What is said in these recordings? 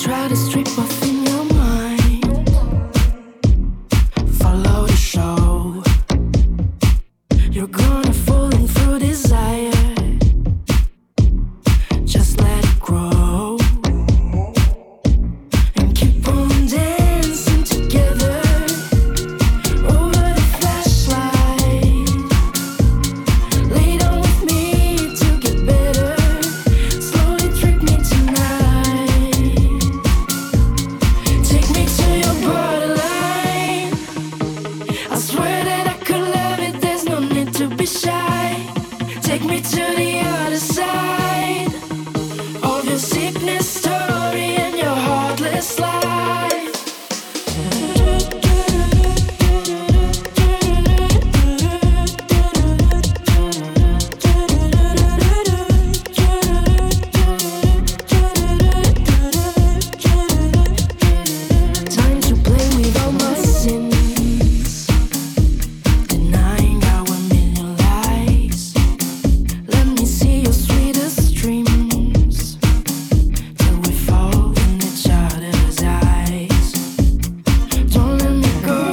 try to strip off in your mind. Follow the show. You're gonna fall in through desire. Just let it grow and keep on dancing together over the flashlight. Lay down with me to get better. Slowly trick me tonight. Take me to your borderline. I swear that I could love it. There's no need to be shy. Take me to the other side of your sickness story and your heartless life. Time to play with all my sins, denying our million lies. Let me see your sweetest dreams till we fall in each other's eyes. Don't let me go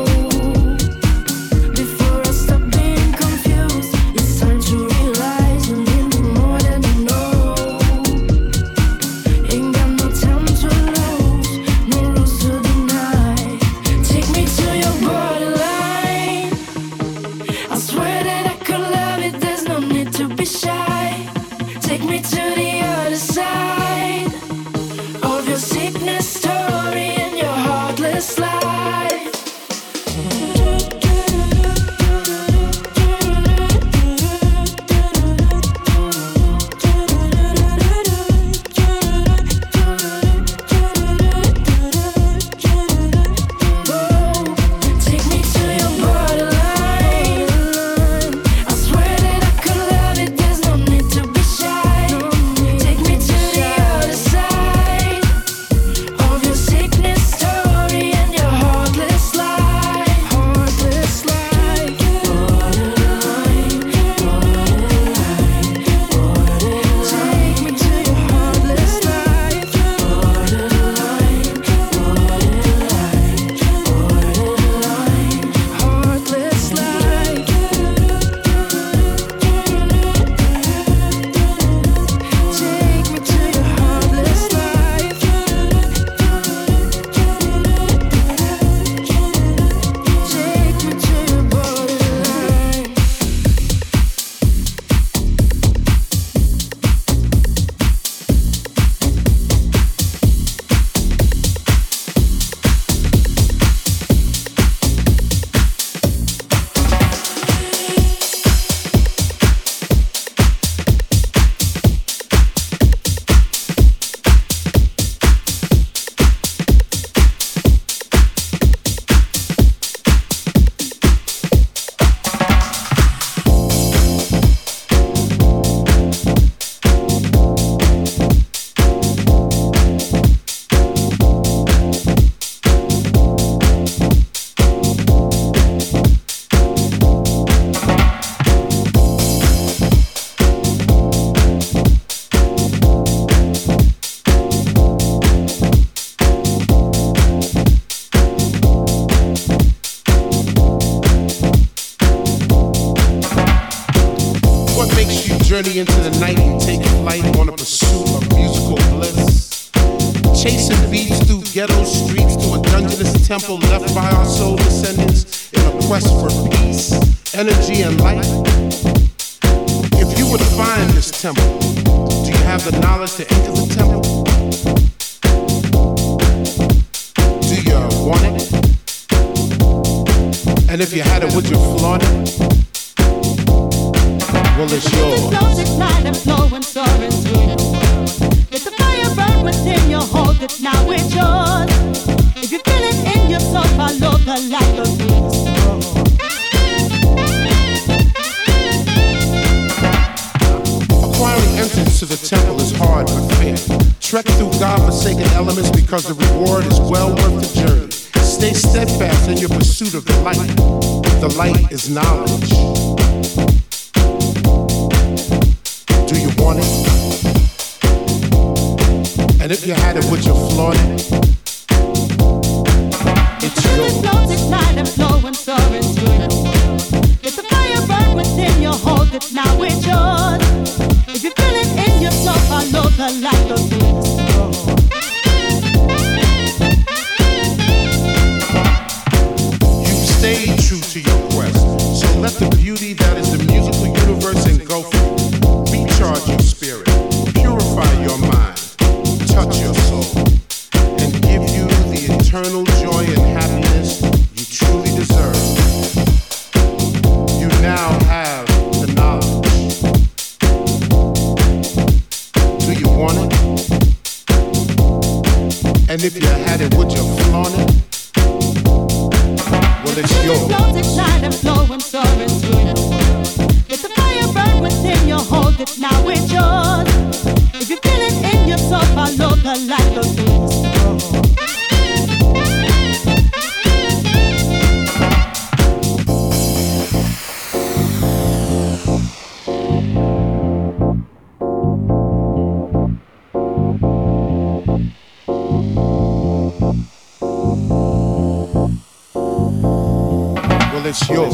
before I stop being confused. It's time to realize you need me more than you know. Ain't got no time to lose, no rules to deny. Take me to your borderline. I swear that I could love it. There's no need to be shy. Take me to the other side of your sickness story and your heartless life. Take me to your borderline. I swear that I could love it. There's no need to be shy. Take me to the other side of your sickness story and your heartless life. Heartless life. Borderline, borderline, borderline. Take me to your heartless life. Borderline, borderline, borderline, heartless life. Take me to your heartless life. Take me to your borderline. What makes you journey into the night and take flight on a pursuit of musical bliss? Chasing beats through ghetto streets to a dungeonous temple left by our soul descendants in a quest for peace, energy, and light. If you would find this temple, do you have the knowledge to enter the temple? Do you want it? And if you had it, would you flaunt it? Well, it's yours. It's this night and flowing, soaring through your world. Let the fire burn within you, hold it, now it's yours. If you feel it in your soul, follow the light of this world. Acquiring entrance to the temple is hard but fair. Trek through God-forsaken elements because the reward is well worth the journey. Stay steadfast in your pursuit of the light. The light is knowledge. Do you want it? And if you had it, would you flaunt it? It's yours. Flows ignite and flow and soar into your world. Let the fire burn within you, hold it, now it's yours. If you feel it in your soul, follow the light of this world. Stay true to your quest. So let the beauty that is the musical universe engulf you. Recharge your spirit, purify your mind, touch your soul, and give you the eternal joy and happiness you truly deserve. You now have the knowledge. Do you want it? And if you had it, would you flaunt it? Well, it's yours. Flows ignite and flow and soar into your world. Let the fire burn within you, hold it, now it's yours. If you feel it in your soul, follow the light of this world. It's yours.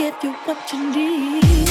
give you what you need.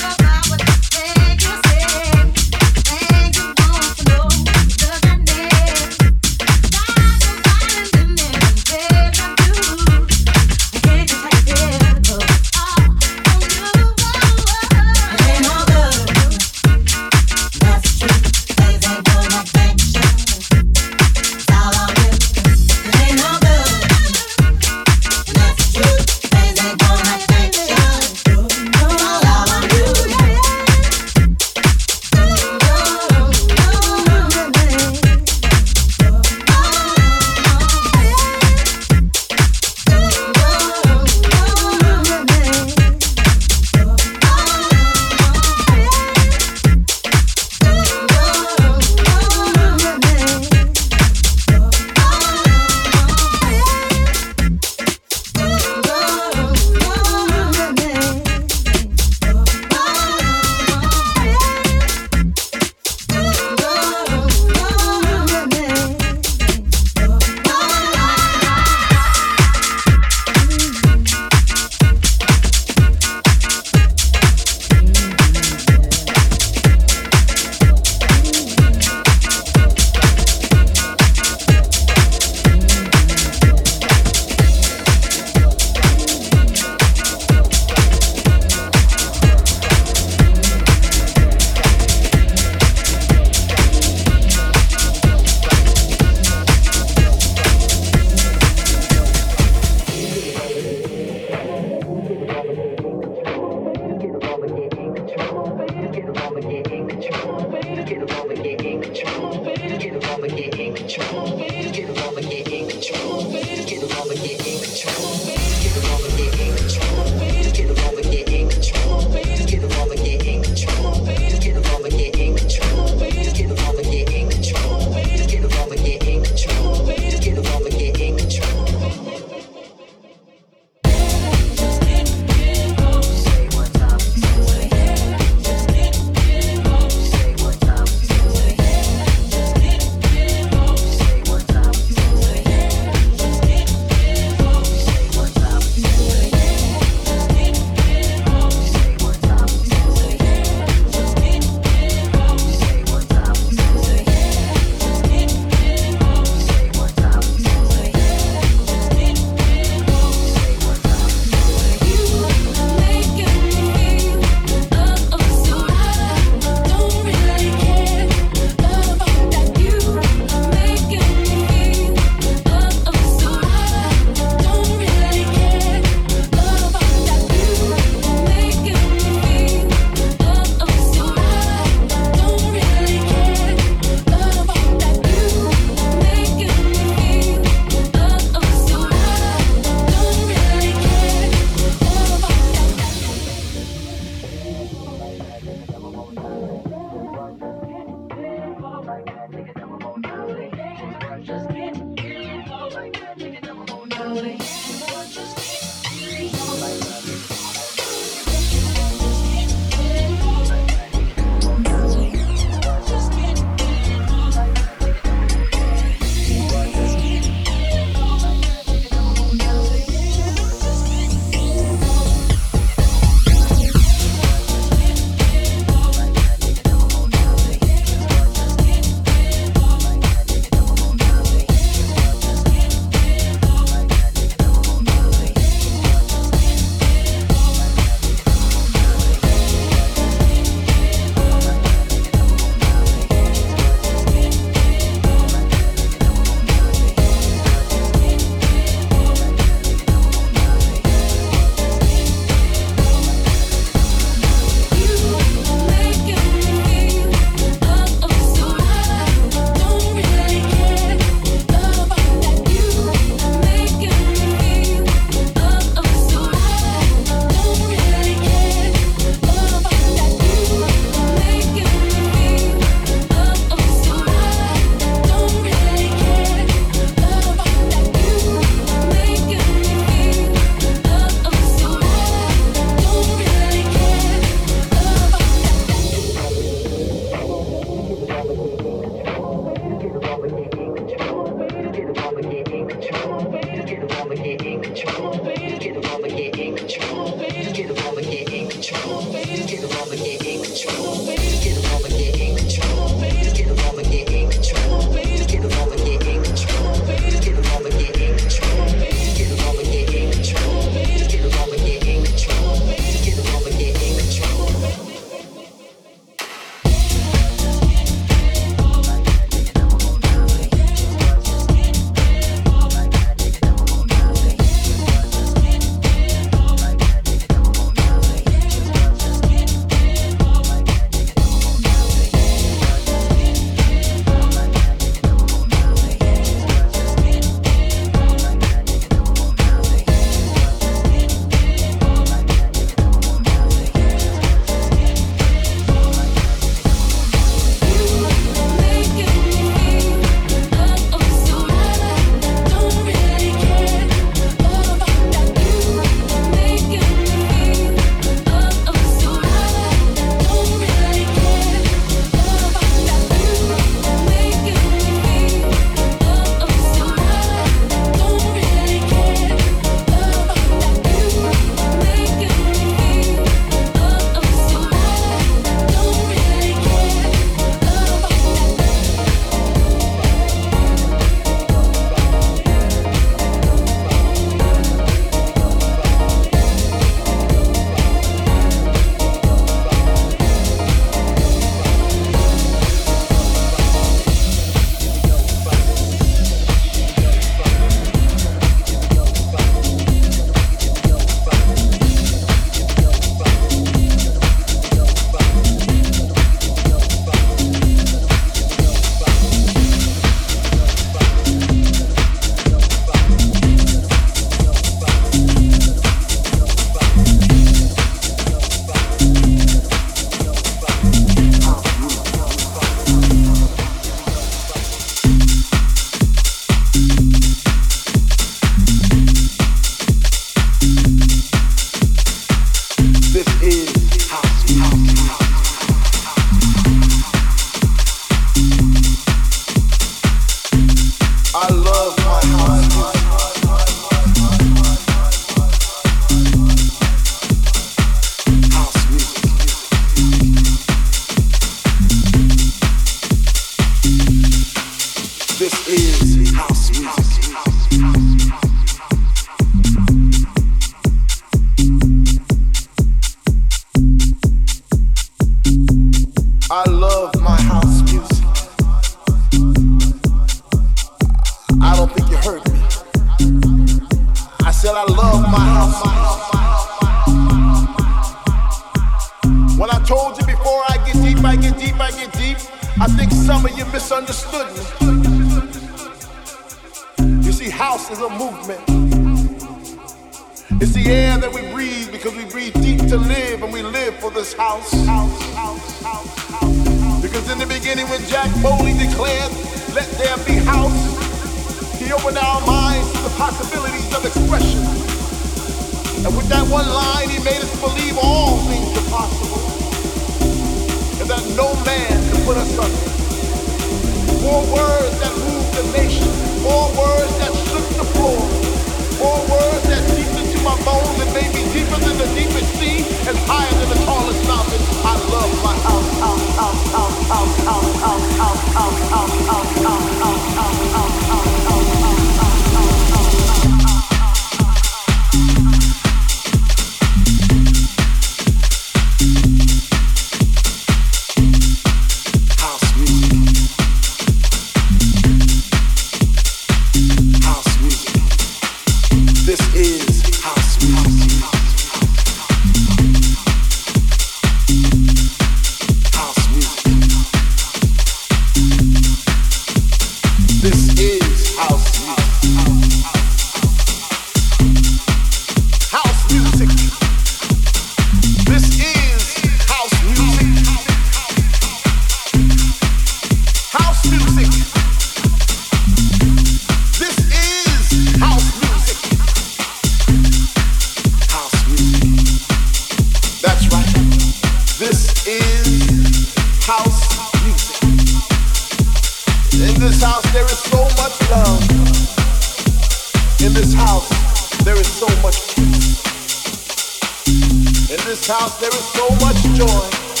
house there is so much joy.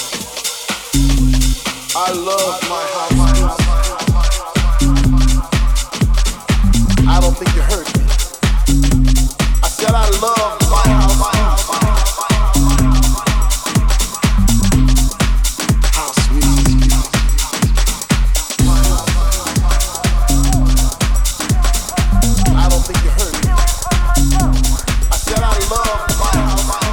I love my house music. I don't think you heard me. I said I love my house music. House music. I don't think you heard me. I said I love my house music.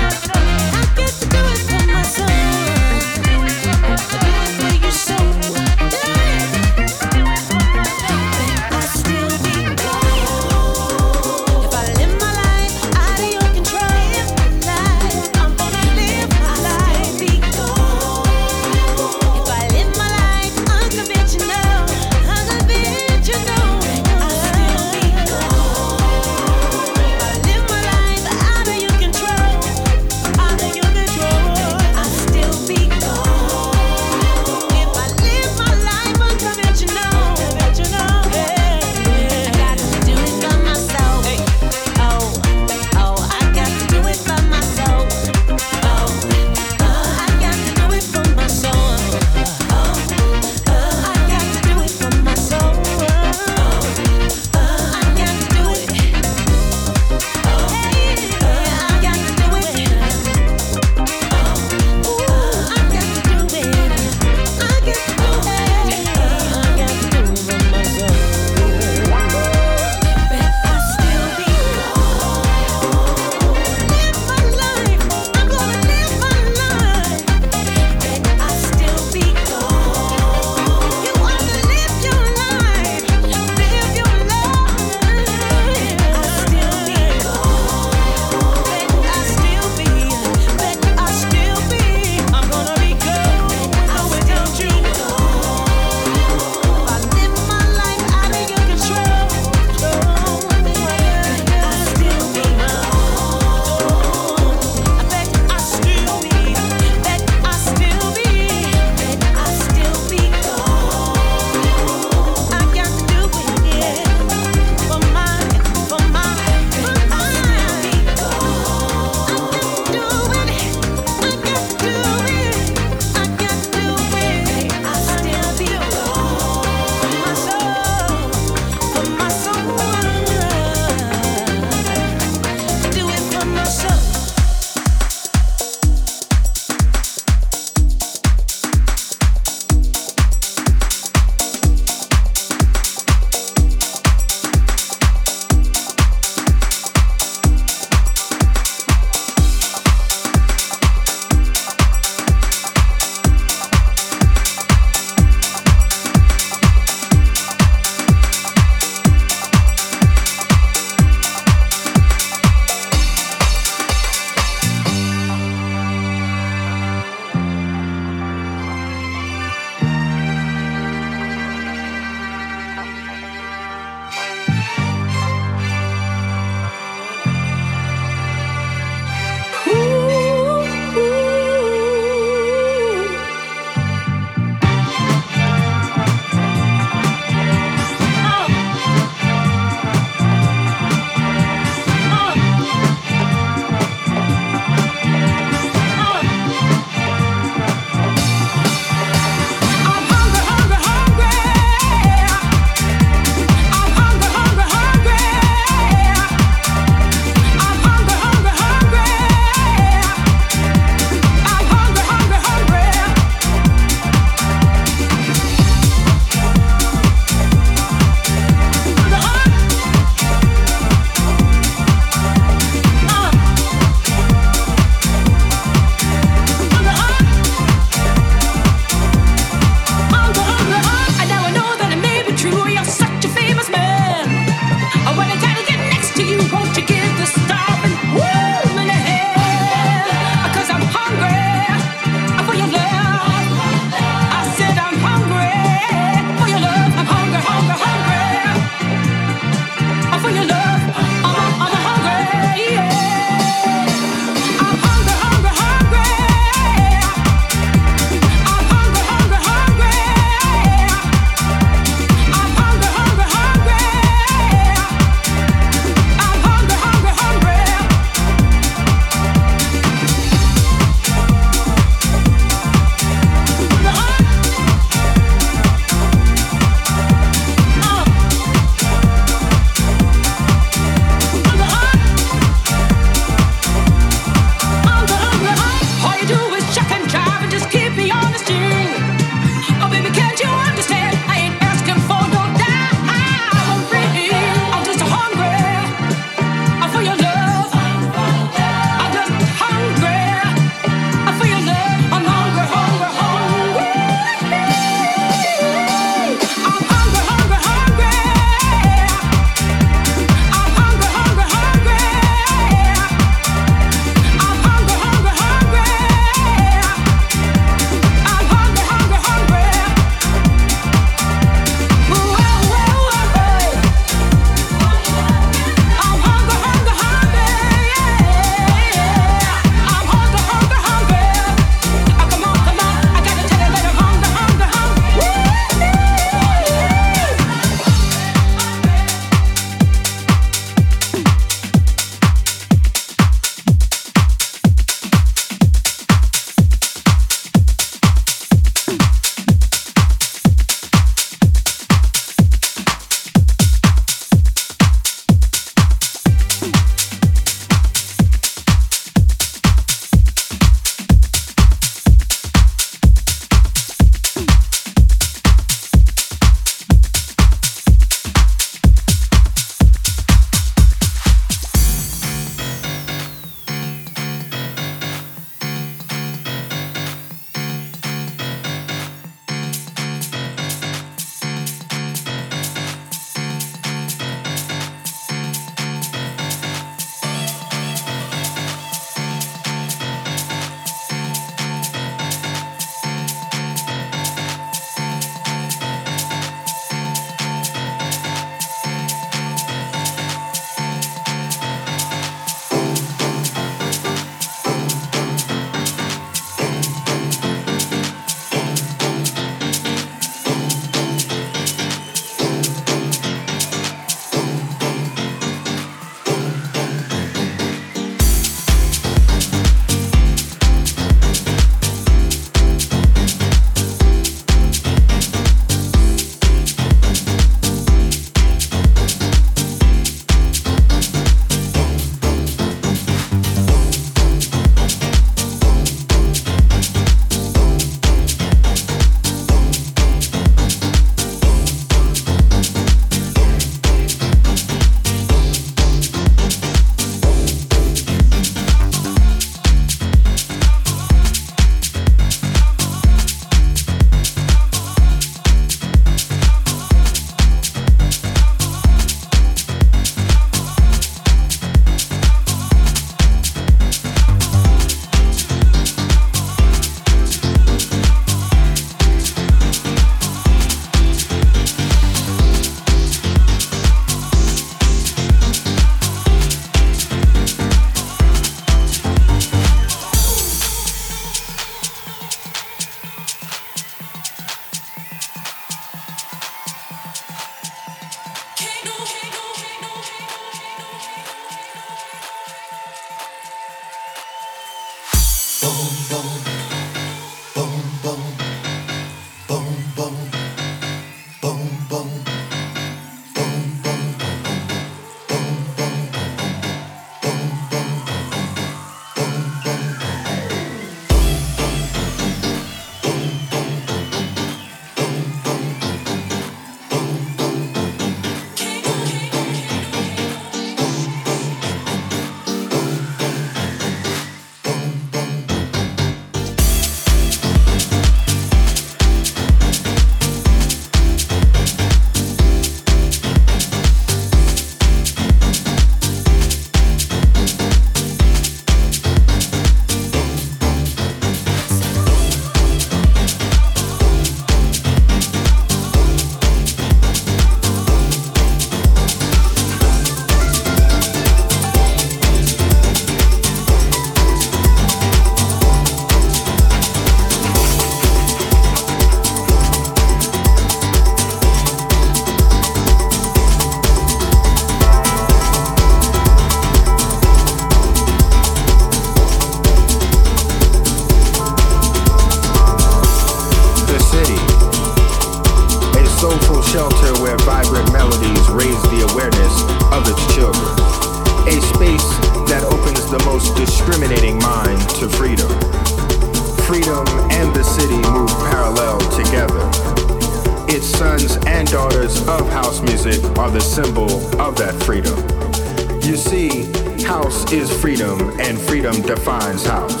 most discriminating mind to freedom. Freedom and the city move parallel together. Its sons and daughters of house music are the symbol of that freedom. You see, house is freedom, and freedom defines house.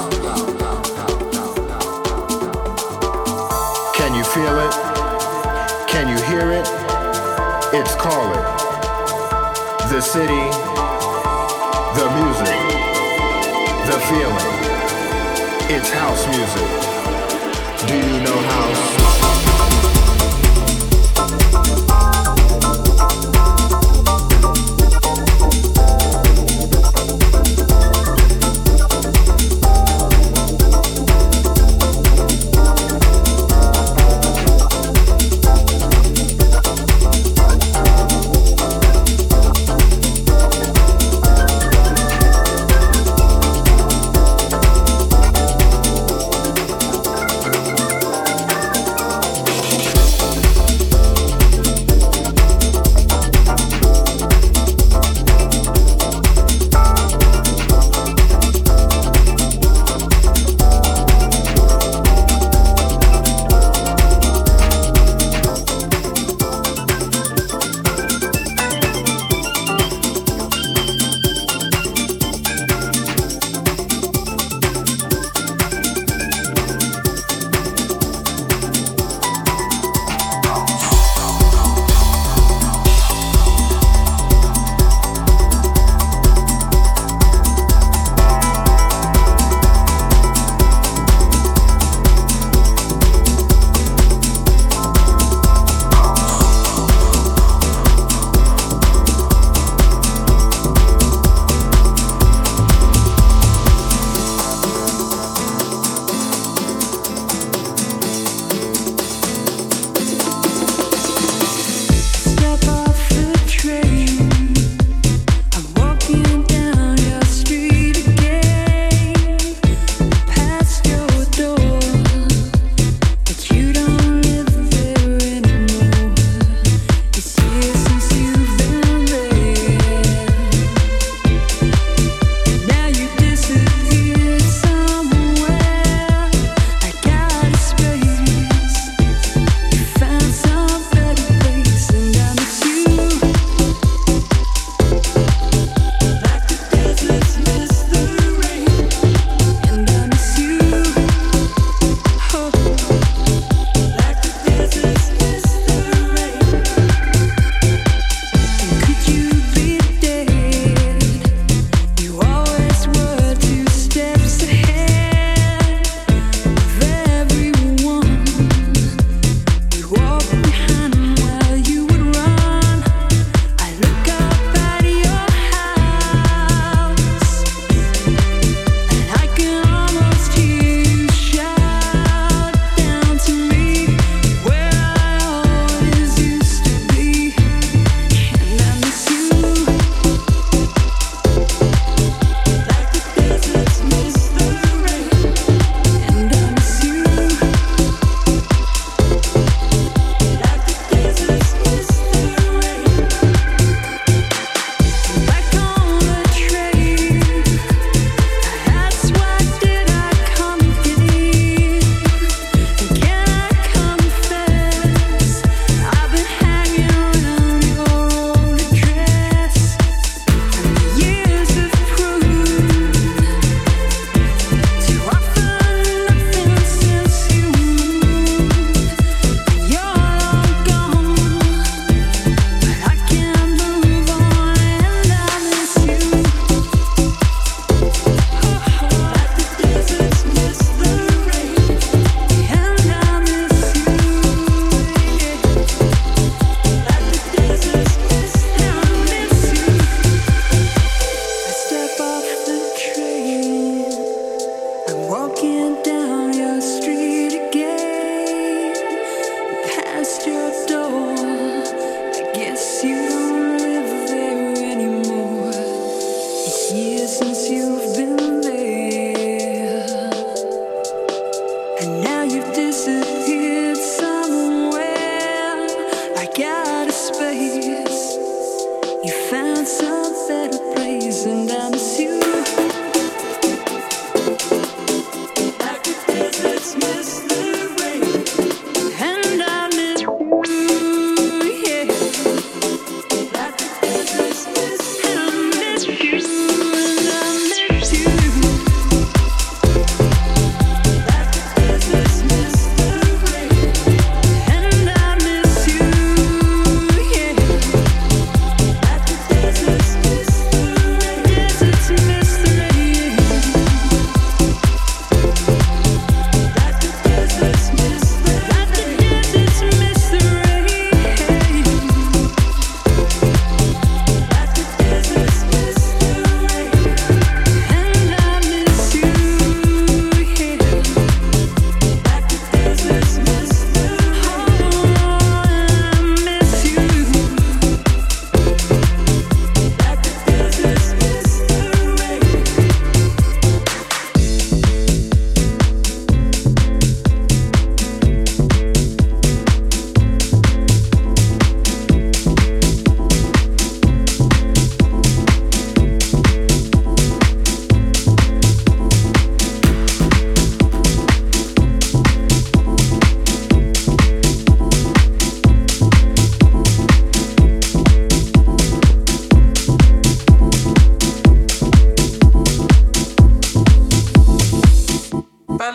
Can you feel it? Can you hear it? It's calling. The city, the music, the feeling. It's house music. Do you know house? You found some better place, and I miss you.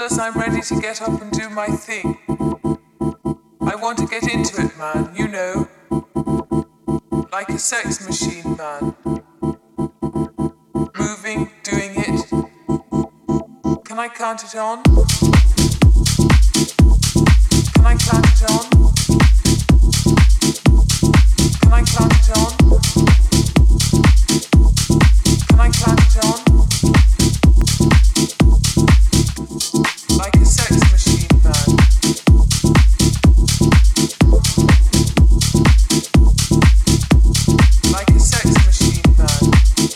Fellas, I'm ready to get up and do my thing. I want to get into it, man, you know. Like a sex machine, man. Moving, doing it. Can I count it on? Can I count it on? Can I count it on? Can I count it on? Like a sex machine, man. Like a sex machine, man.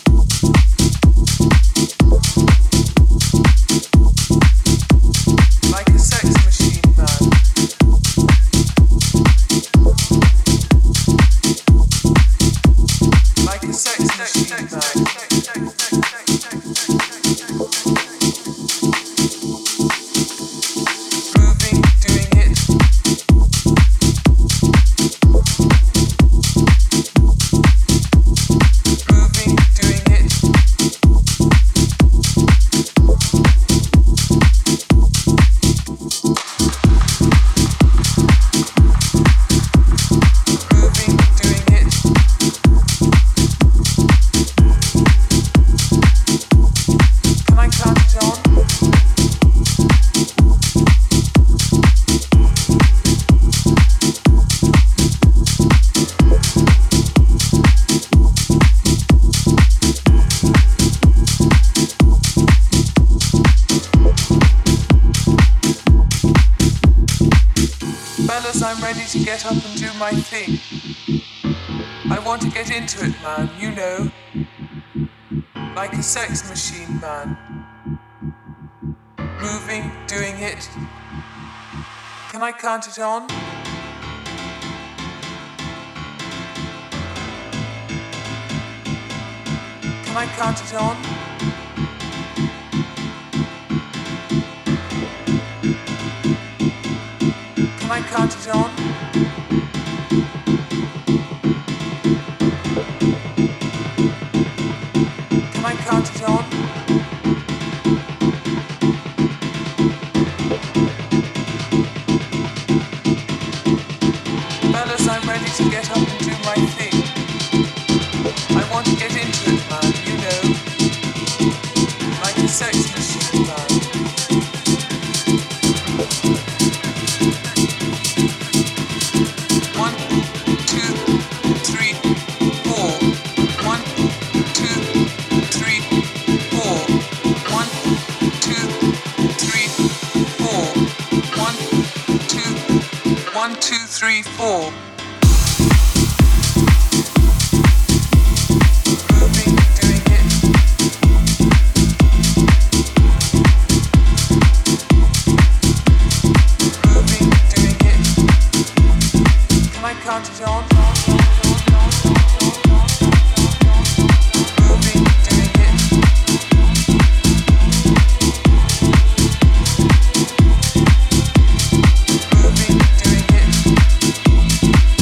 Like a sex machine, man. Like a sex machine, man. Moving, doing it. Moving, doing it. Moving, doing it. Can I count it on? Fellas, I'm ready to get up and do my thing. I want to get into it, man, you know. Like a sex machine, man. Moving, doing it. Can I count it on? Can I count it on? Can I count it on? Can I count it on? Fellas, I'm ready to get up and do my thing. I want to get into it, man, you know. Like a sex machine, man. One, two, three, four. One, two, three, four. One, two, three, four. One, two, three, four. Moving, doing it. Moving, doing it. Can I count it on? Moving, doing it. Moving, doing it.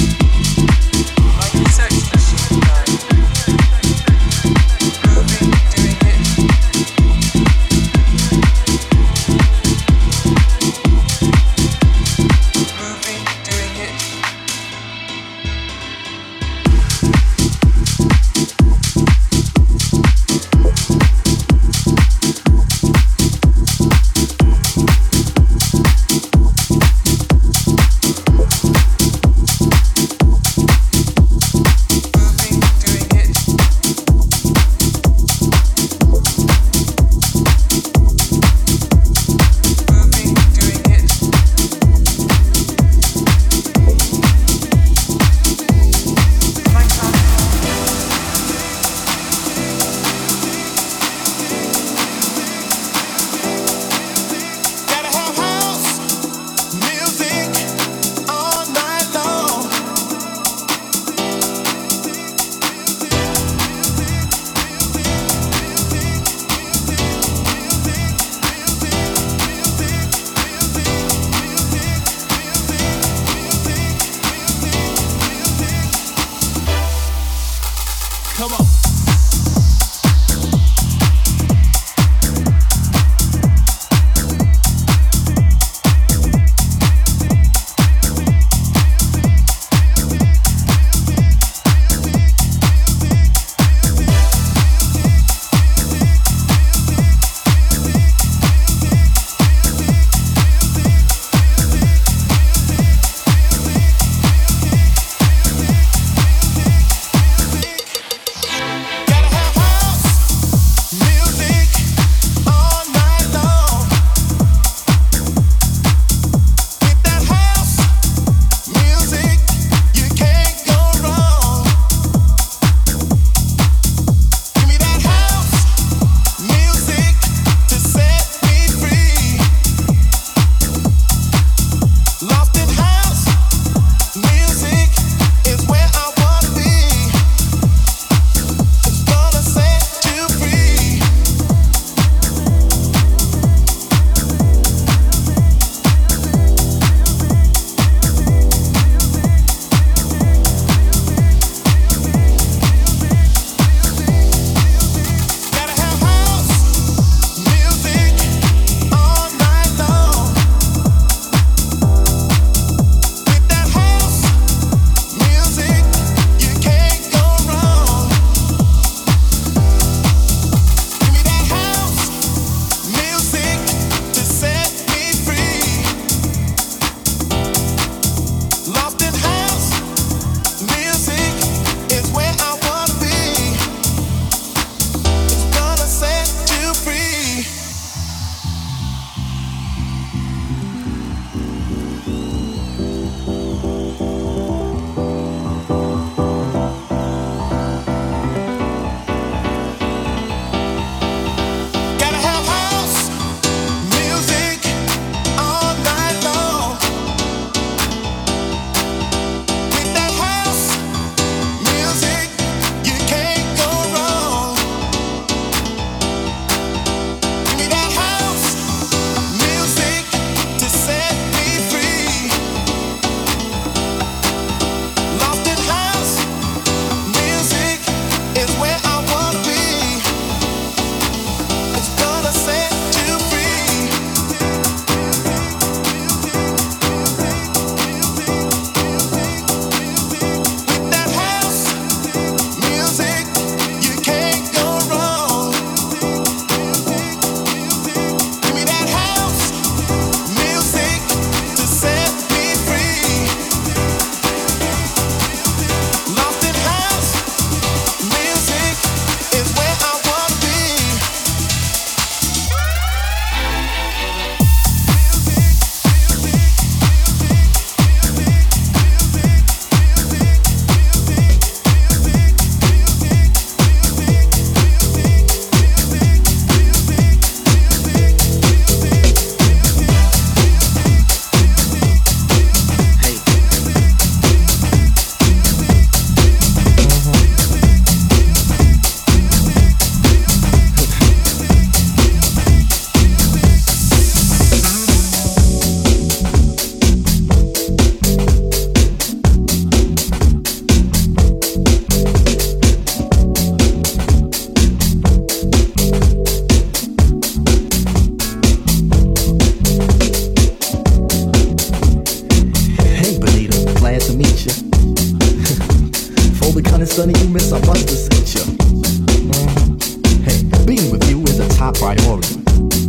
top priority.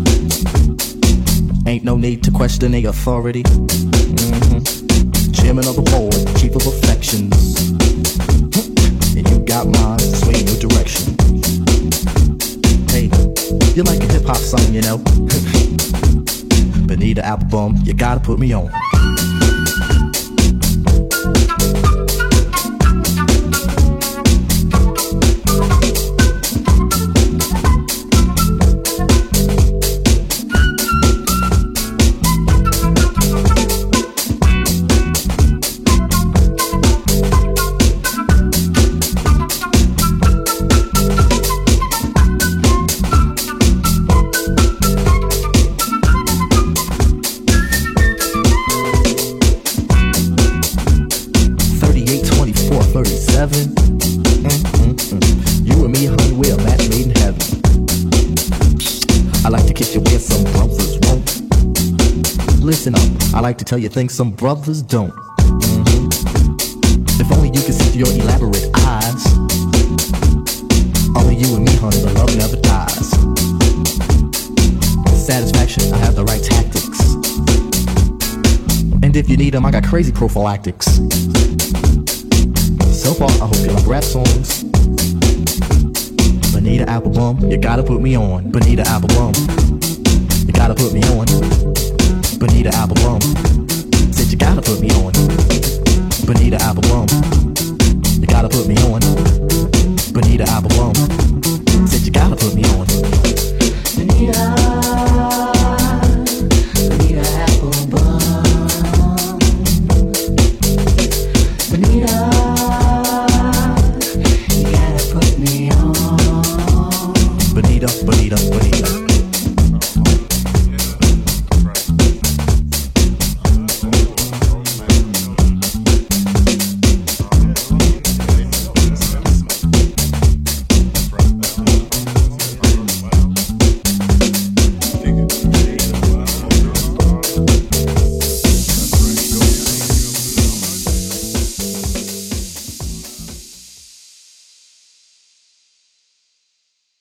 Ain't no need to question the authority. Chairman of the board, chief of affections. And you got mine to sway in your direction. Hey, you like a hip-hop song, you know? Bonita Applebum, you gotta put me on. You and me, honey, we're a match made in heaven. I like to kiss you where some brothers won't. Listen up, I like to tell you things some brothers don't. If only you could see through your elaborate eyes. Only you and me, honey, the love never dies. Satisfaction, I have the right tactics. And if you need them, I got crazy prophylactics. So far, I hope you like rap songs. Bonita Applebum, you gotta put me on. Bonita Applebum, you gotta put me on. Bonita Applebum, said you gotta put me on. Bonita Applebum, you gotta put me on. Bonita Applebum, said you gotta put me on. Bonita, Bonita Applebum, Bonita. Bonita, Bonita, Bonita.